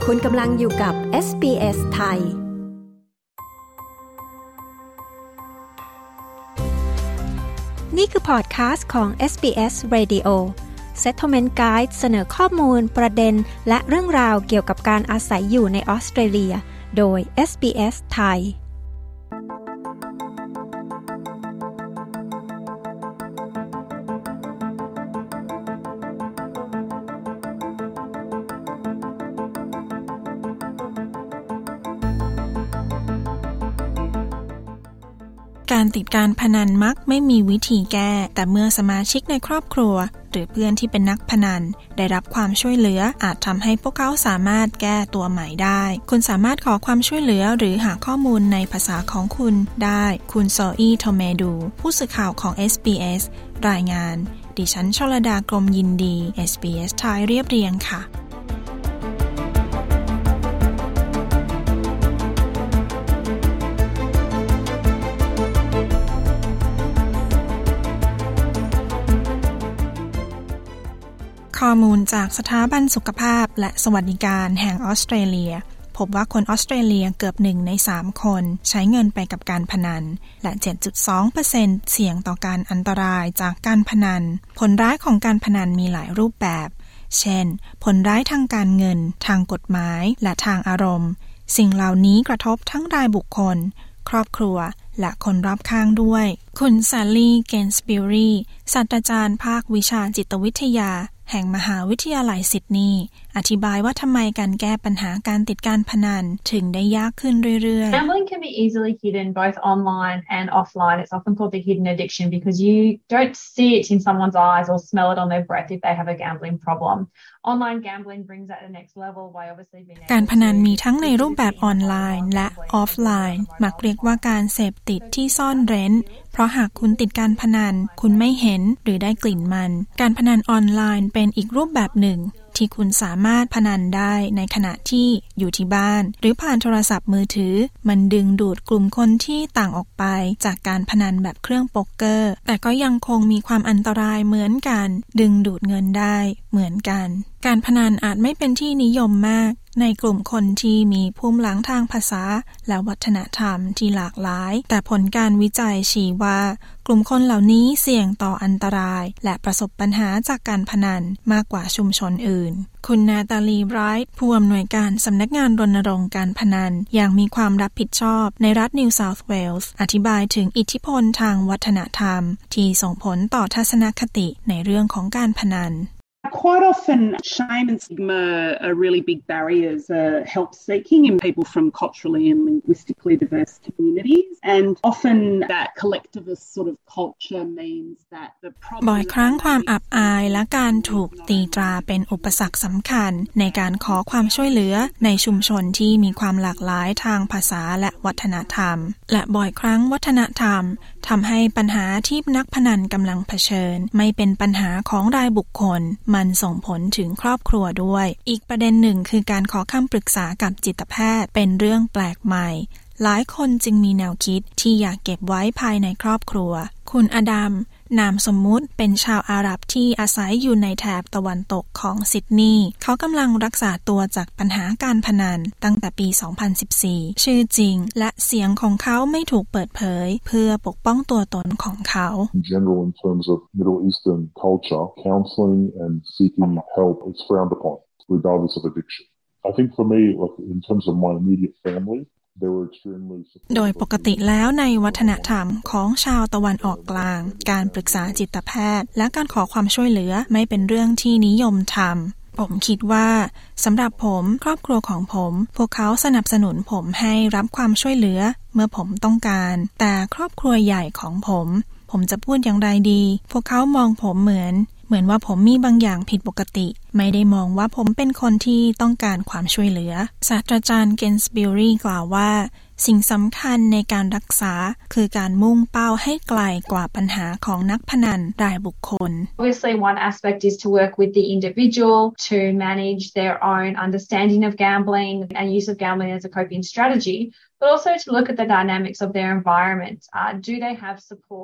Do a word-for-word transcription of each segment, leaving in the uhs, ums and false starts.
คุณกำลังอยู่กับ เอส บี เอส ไทยนี่คือพอดคาสต์ของ เอส บี เอส Radio Settlement Guide เสนอข้อมูลประเด็นและเรื่องราวเกี่ยวกับการอาศัยอยู่ในออสเตรเลียโดย เอส บี เอส ไทยการติดการพนันมักไม่มีวิธีแก้แต่เมื่อสมาชิกในครอบครัวหรือเพื่อนที่เป็นนักพนันได้รับความช่วยเหลืออาจทำให้พวกเขาสามารถแก้ตัวใหม่ได้คุณสามารถขอความช่วยเหลือหรือหาข้อมูลในภาษาของคุณได้คุณโซอี้โทเมดูผู้สื่อข่าวของ เอส บี เอส รายงานดิฉันชลดากรมยินดี เอส บี เอส ไทยเรียบเรียงค่ะข้อมูลจากสถาบันสุขภาพและสวัสดิการแห่งออสเตรเลียพบว่าคนออสเตรเลียเกือบหนึ่งในสามคนใช้เงินไปกับการพนันและ เจ็ดจุดสองเปอร์เซ็นต์ เสี่ยงต่อการอันตรายจากการพนันผลร้ายของการพนันมีหลายรูปแบบเช่นผลร้ายทางการเงินทางกฎหมายและทางอารมณ์สิ่งเหล่านี้กระทบทั้งรายบุคคลครอบครัวและคนรอบข้างด้วยคุณแซลลี่ เกนสบิวรีศาสตราจารย์ภาควิชาจิตวิทยาแห่งมหาวิทยาลัยซิดนีย์อธิบายว่าทำไมการแก้ปัญหาการติดการพนันถึงได้ยากขึ้นเรื่อยๆ Gambling can be easily hidden both online and offline. It's often called the hidden addiction because you don't see it in someone's eyes or smell it on their breath if they have a gambling problem. Online gambling brings that to the next level by obviously being able การพนันมีทั้งในรูปแบบออนไลน์และออฟไลน์มักเรียกว่าการเสพติดที่ซ่อนเร้นเพราะหากคุณติดการพนันคุณไม่เห็นหรือได้กลิ่นมันการพนันออนไลน์เป็นอีกรูปแบบหนึ่งที่คุณสามารถพนันได้ในขณะที่อยู่ที่บ้านหรือผ่านโทรศัพท์มือถือมันดึงดูดกลุ่มคนที่ต่างออกไปจากการพนันแบบเครื่องโป๊กเกอร์แต่ก็ยังคงมีความอันตรายเหมือนกันดึงดูดเงินได้เหมือนกันการพนันอาจไม่เป็นที่นิยมมากในกลุ่มคนที่มีภูมิหลังทางภาษาและวัฒนธรรมที่หลากหลายแต่ผลการวิจัยชี้ว่ากลุ่มคนเหล่านี้เสี่ยงต่ออันตรายและประสบปัญหาจากการพนันมากกว่าชุมชนอื่นคุณนาตาลีไบรท์ผู้อำนวยการสำนักงานรณรงค์การพนันอย่างมีความรับผิดชอบในรัฐนิวเซาท์เวลส์อธิบายถึงอิทธิพลทางวัฒนธรรมที่ส่งผลต่อทัศนคติในเรื่องของการพนัน Quite often, shame and stigma are really big barriers uh, help seeking in people from culturally and linguistically diverse communities. And often that collectivist sort of culture means that the problem... บ่อยครั้งความอับอายและการถูกตีตราเป็นอุปสรรคสำคัญในการขอความช่วยเหลือในชุมชนที่มีความหลากหลายทางภาษาและวัฒนธรรมและบ่อยครั้งวัฒนธรรมทำให้ปัญหาที่นักพนันกำลังเผชิญไม่เป็นปัญหาของรายบุคคลมันส่งผลถึงครอบครัวด้วยอีกประเด็นหนึ่งคือการขอคำปรึกษากับจิตแพทย์เป็นเรื่องแปลกใหม่หลายคนจึงมีแนวคิดที่อยากเก็บไว้ภายในครอบครัวคุณอดัมนามสมมุติเป็นชาวอาหรับที่อาศัยอยู่ในแถบตะวันตกของซิดนีย์เขากำลังรักษาตัวจากปัญหาการพนันตั้งแต่ปี สองพันสิบสี่ ชื่อจริงและเสียงของเขาไม่ถูกเปิดเผยเพื่อปกป้องตัวตนของเขา In general, in terms of Middle Eastern culture, counseling and seeking help is frowned upon, regardless of addiction. I think for me, like in terms of my immediate family,โดยปกติแล้วในวัฒนธรรมของชาวตะวันออกกลางการปรึกษาจิตแพทย์และการขอความช่วยเหลือไม่เป็นเรื่องที่นิยมทำผมคิดว่าสำหรับผมครอบครัวของผมพวกเขาสนับสนุนผมให้รับความช่วยเหลือเมื่อผมต้องการแต่ครอบครัวใหญ่ของผมผมจะพูดอย่างไรดีพวกเขามองผมเหมือนเหมือนว่าผมมีบางอย่างผิดปกติไม่ได้มองว่าผมเป็นคนที่ต้องการความช่วยเหลือศาสตราจารย์เกนสบิวรีกล่าวว่าสิ่งสำคัญในการรักษาคือการมุ่งเป้าให้ไกลกว่าปัญหาของนักพนันรายบุคคล Obviously, one aspect is to work with the individual to manage their own understanding of gambling and use of gambling as a coping strategy, but also to look at the dynamics of their environment. Uh, do they have support?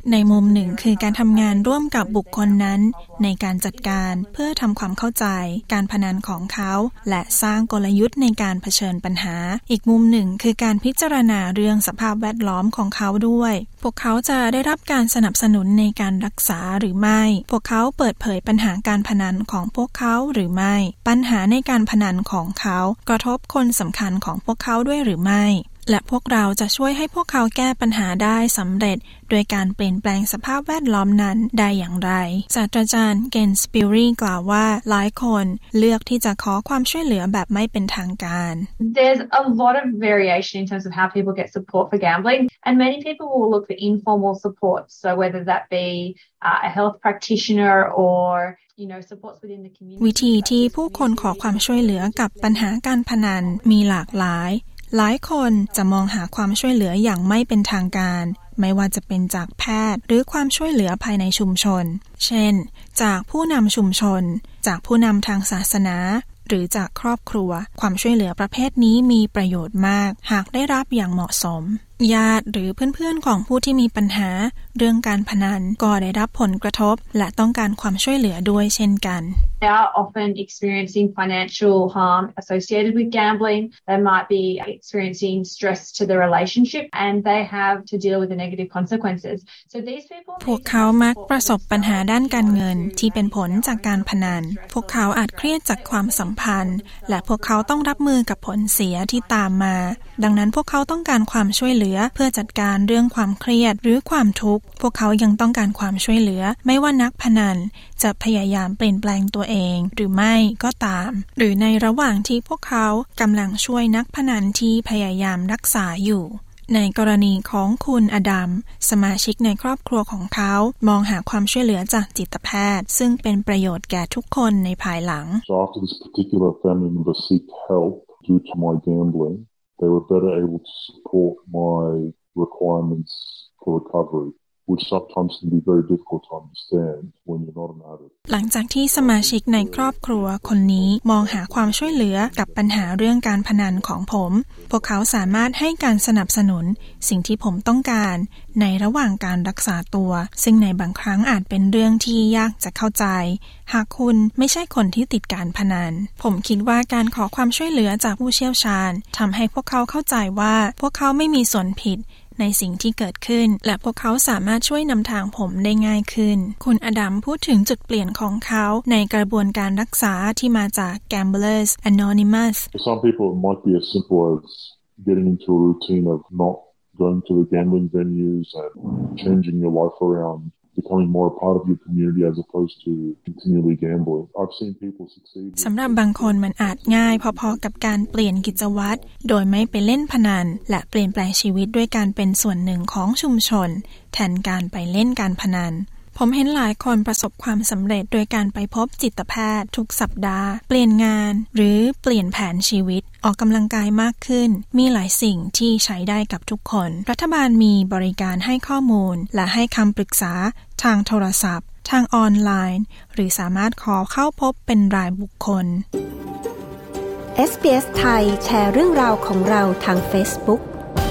ในมุมหนึ่งคือการทำงานร่วมกับบุคคลนั้นในการจัดการเพื่อทำความเข้าใจการพนันของเขาและสร้างกลยุทธ์ในการเผชิญปัญหาอีกมุมหนึ่งคือการพิจารณาเรื่องสภาพแวดล้อมของเขาด้วยพวกเขาจะได้รับการสนับสนุนในการรักษาหรือไม่พวกเขาเปิดเผยปัญหาการพนันของพวกเขาหรือไม่ปัญหาในการพนันของเขากระทบคนสำคัญของพวกเขาด้วยหรือไม่และพวกเราจะช่วยให้พวกเขาแก้ปัญหาได้สำเร็จโดยการเปลี่ยนแปลงสภาพแวดล้อมนั้นได้อย่างไรศาสตราจารย์เกนสปิรีกล่าวว่าหลายคนเลือกที่จะขอความช่วยเหลือแบบไม่เป็นทางการ There's a lot of variation in terms of how people get support for gambling and many people will look for informal support so whether that be uh, a health practitioner or you know supports within the community วิธีที่ผู้คนขอความช่วยเหลือกับปัญหาการพนันมีหลากหลายหลายคนจะมองหาความช่วยเหลืออย่างไม่เป็นทางการไม่ว่าจะเป็นจากแพทย์หรือความช่วยเหลือภายในชุมชนเช่นจากผู้นำชุมชนจากผู้นำทางศาสนาหรือจากครอบครัวความช่วยเหลือประเภทนี้มีประโยชน์มากหากได้รับอย่างเหมาะสมญาติหรือเพื่อนๆของผู้ที่มีปัญหาเรื่องการพนันก็ได้รับผลกระทบและต้องการความช่วยเหลือด้วยเช่นกัน They are often experiencing financial harm associated with gambling. They might be experiencing stress to the relationship and they have to deal with the negative consequences. So these people พวกเขามักประสบปัญหาด้านการเงินที่เป็นผลจากการพนันพวกเขาอาจเครียดจากความสัมพันธ์และพวกเขาต้องรับมือกับผลเสียที่ตามมาดังนั้นพวกเขาต้องการความช่วยเหลือเพื่อจัดการเรื่องความเครียดหรือความทุกข์พวกเขายังต้องการความช่วยเหลือไม่ว่านักพนันจะพยายามเปลี่ยนแปลงตัวเองหรือไม่ก็ตามหรือในระหว่างที่พวกเขากำลังช่วยนักพนันที่พยายามรักษาอยู่ในกรณีของคุณอดัมสมาชิกในครอบครัวของเขามองหาความช่วยเหลือจากจิตแพทย์ซึ่งเป็นประโยชน์แก่ทุกคนในภายหลัง So after this particular family member seeked help due to my gambling, they were better able to support my requirements for recovery.which sometimes can be very difficult to understand when you're not an addict. หลังจากที่สมาชิกในครอบครัวคนนี้มองหาความช่วยเหลือกับปัญหาเรื่องการพนันของผมพวกเขาสามารถให้การสนับสนุนสิ่งที่ผมต้องการในระหว่างการรักษาตัวซึ่งในบางครั้งอาจเป็นเรื่องที่ยากจะเข้าใจหากคุณไม่ใช่คนที่ติดการพนันผมคิดว่าการขอความช่วยเหลือจากผู้เชี่ยวชาญทำให้พวกเขาเข้าใจว่าพวกเขาไม่มีส่วนผิดในสิ่งที่เกิดขึ้นและพวกเขาสามารถช่วยนำทางผมได้ง่ายขึ้นคุณอดัมพูดถึงจุดเปลี่ยนของเขาในกระบวนการรักษาที่มาจาก Gamblers Anonymous For some people it might be as simple as getting into a routine of not going to the gambling venues and changing your life around becoming more a part of your community as opposed to continually gambling. I've seen people succeed. สำหรับบางคนมันอาจง่ายพอๆกับการเปลี่ยนกิจวัตรโดยไม่ไปเล่นพนันและเปลี่ยนแปลงชีวิตด้วยการเป็นส่วนหนึ่งของชุมชนแทนการไปเล่นการพนันผมเห็นหลายคนประสบความสำเร็จโดยการไปพบจิตแพทย์ทุกสัปดาห์เปลี่ยนงานหรือเปลี่ยนแผนชีวิตออกกำลังกายมากขึ้นมีหลายสิ่งที่ใช้ได้กับทุกคนรัฐบาลมีบริการให้ข้อมูลและให้คำปรึกษาทางโทรศัพท์ทางออนไลน์หรือสามารถขอเข้าพบเป็นรายบุคคลเอส บี เอส ไทยแชร์เรื่องราวของเราทาง Facebook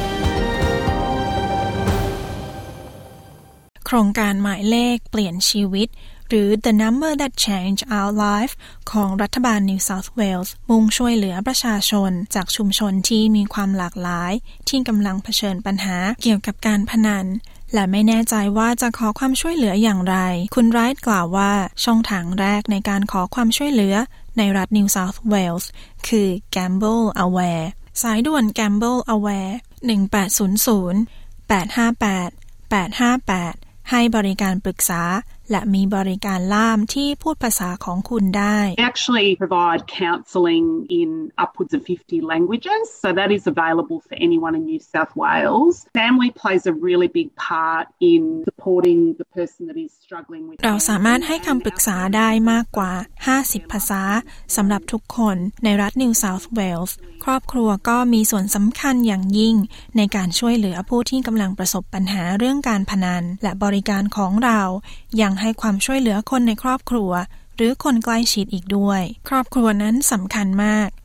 โครงการหมายเลขเปลี่ยนชีวิตหรือ The Number That Changed Our Life ของรัฐบาล New South Wales มุ่งช่วยเหลือประชาชนจากชุมชนที่มีความหลากหลายที่กำลังเผชิญปัญหาเกี่ยวกับการพนันและไม่แน่ใจว่าจะขอความช่วยเหลืออย่างไรคุณไรท์กล่าวว่าช่องทางแรกในการขอความช่วยเหลือในรัฐ New South Wales คือ Gamble Aware สายด่วน Gamble Aware หนึ่งแปดศูนย์ศูนย์ แปดห้าแปด แปดห้าแปดให้บริการปรึกษาและมีบริการล่ามที่พูดภาษาของคุณได้ We actually provide counselling in upwards of fifty languages, so that is available for anyone in New South Wales. Family plays a really big part in supporting the person that is struggling with. เราสามารถให้คำปรึกษาได้มากกว่าห้าสิบภาษาสำหรับทุกคนในรัฐ New South Wales ครอบครัวก็มีส่วนสำคัญอย่างยิ่งในการช่วยเหลือผู้ที่กำลังประสบปัญหาเรื่องการพนันและบริการของเรายังให้ความช่วยเหลือคนในครอบครัวหรือคนใกล้ชิดอีกด้วยครอบครัวนั้นสำคัญมาก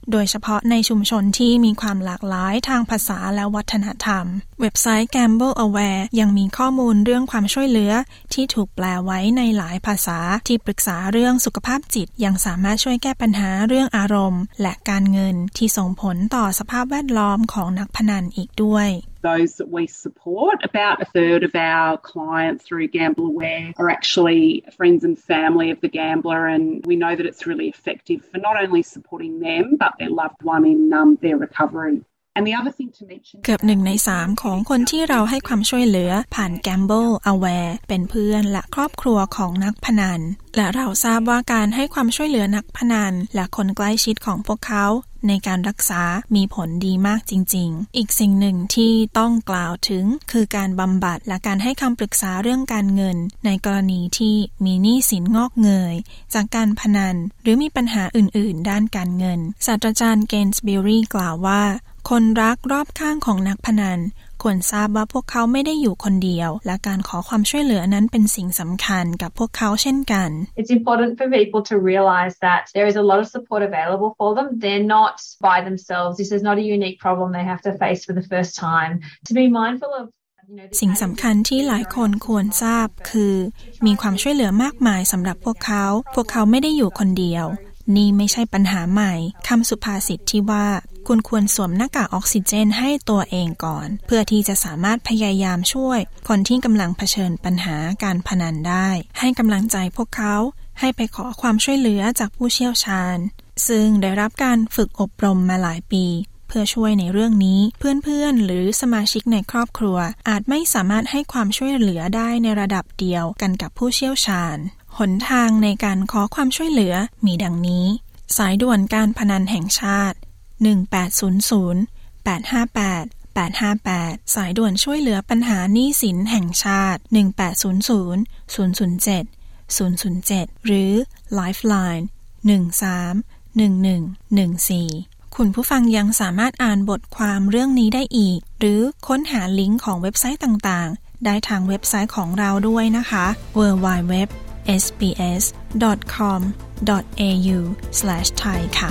โดยเฉพาะในชุมชนที่มีความหลากหลายทางภาษาและวัฒนธรรมเว็บไซต์ Gamble Aware ยังมีข้อมูลเรื่องความช่วยเหลือที่ถูกแปลไว้ในหลายภาษาที่ปรึกษาเรื่องสุขภาพจิตยังสามารถช่วยแก้ปัญหาเรื่องอารมณ์และการเงินที่ส่งผลต่อสภาพแวดล้อมของนักพนันอีกด้วย Those that we support, about a third of our clients through Gamble Aware are actually friends and family of the gambler, and we know that it's really effective for not only supporting them but their loved one in um, their recovery. เกือบหนึ่งในสามของคนที่เราให้ความช่วยเหลือผ่าน Gamble Aware เป็นเพื่อนและครอบครัวของนักพนันและเราทราบว่าการให้ความช่วยเหลือนักพนันและคนใกล้ชิดของพวกเขาในการรักษามีผลดีมากจริงๆอีกสิ่งหนึ่งที่ต้องกล่าวถึงคือการบำบัดและการให้คำปรึกษาเรื่องการเงินในกรณีที่มีหนี้สินงอกเงยจากการพนันหรือมีปัญหาอื่นๆด้านการเงินศาสตราจารย์เกนส์บิลลี่กล่าวว่าคนรักรอบข้างของนักพนันควรทราบว่าพวกเขาไม่ได้อยู่คนเดียวและการขอความช่วยเหลือนั้นเป็นสิ่งสำคัญกับพวกเขาเช่นกัน It's important for people to realize that there is a lot of support available for them. They're not by themselves. This is not a unique problem they have to face for the first time. To be mindful of สิ่งสำคัญที่หลายคนควรทราบคือมีความช่วยเหลือมากมายสำหรับพวกเขาพวกเขาไม่ได้อยู่คนเดียวนี่ไม่ใช่ปัญหาใหม่คำสุภาษิตที่ว่าคุณควรสวมหน้ากากออกซิเจนให้ตัวเองก่อนเพื่อที่จะสามารถพยายามช่วยคนที่กำลังเผชิญปัญหาการพนันได้ให้กำลังใจพวกเขาให้ไปขอความช่วยเหลือจากผู้เชี่ยวชาญซึ่งได้รับการฝึกอบรมมาหลายปีเพื่อช่วยในเรื่องนี้เพื่อนๆหรือสมาชิกในครอบครัวอาจไม่สามารถให้ความช่วยเหลือได้ในระดับเดียวกันกับผู้เชี่ยวชาญหนทางในการขอความช่วยเหลือมีดังนี้สายด่วนการพนันแห่งชาติหนึ่งแปดศูนย์ศูนย์ แปดห้าแปด แปดห้าแปดสายด่วนช่วยเหลือปัญหาหนี้สินแห่งชาติหนึ่งแปดศูนย์ศูนย์ ศูนย์ศูนย์เจ็ด ศูนย์ศูนย์เจ็ดหรือ Lifeline หนึ่งสามหนึ่งหนึ่งหนึ่งสี่คุณผู้ฟังยังสามารถอ่านบทความเรื่องนี้ได้อีกหรือค้นหาลิงก์ของเว็บไซต์ต่างๆได้ทางเว็บไซต์ของเราด้วยนะคะ ดับเบิลยู ดับเบิลยู ดับเบิลยู ดอท เอส บี เอส ดอท คอม ดอท เอ ยู สแลช ไทย ค่ะ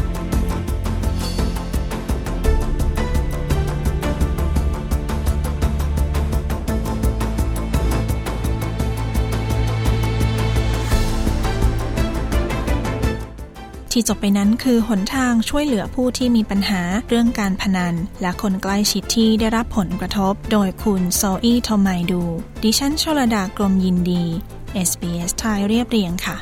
ที่จบไปนั้นคือหนทางช่วยเหลือผู้ที่มีปัญหาเรื่องการพนันและคนใกล้ชิดที่ได้รับผลกระทบโดยคุณโซอีโทไมดูดิฉันชลดากรมยินดี เอส บี เอส ไทยเรียบเรียงค่ะ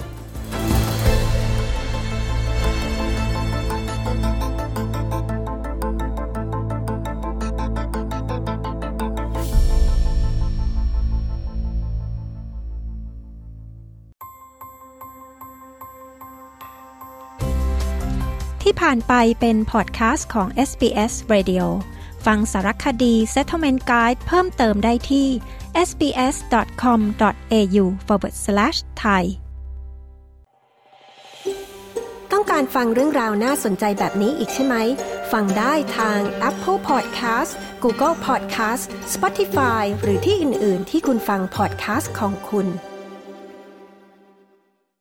ที่ผ่านไปเป็นพอดแคสต์ของ เอส บี เอส Radio ฟังสารคดี Settlement Guide เพิ่มเติมได้ที่ เอส บี เอส ดอท คอม ดอท เอ ยู สแลช ไทย ต้องการฟังเรื่องราวน่าสนใจแบบนี้อีกใช่ไหม ฟังได้ทาง Apple Podcast Google Podcast Spotify หรือที่อื่นๆที่คุณฟังพอดแคสต์ของคุณ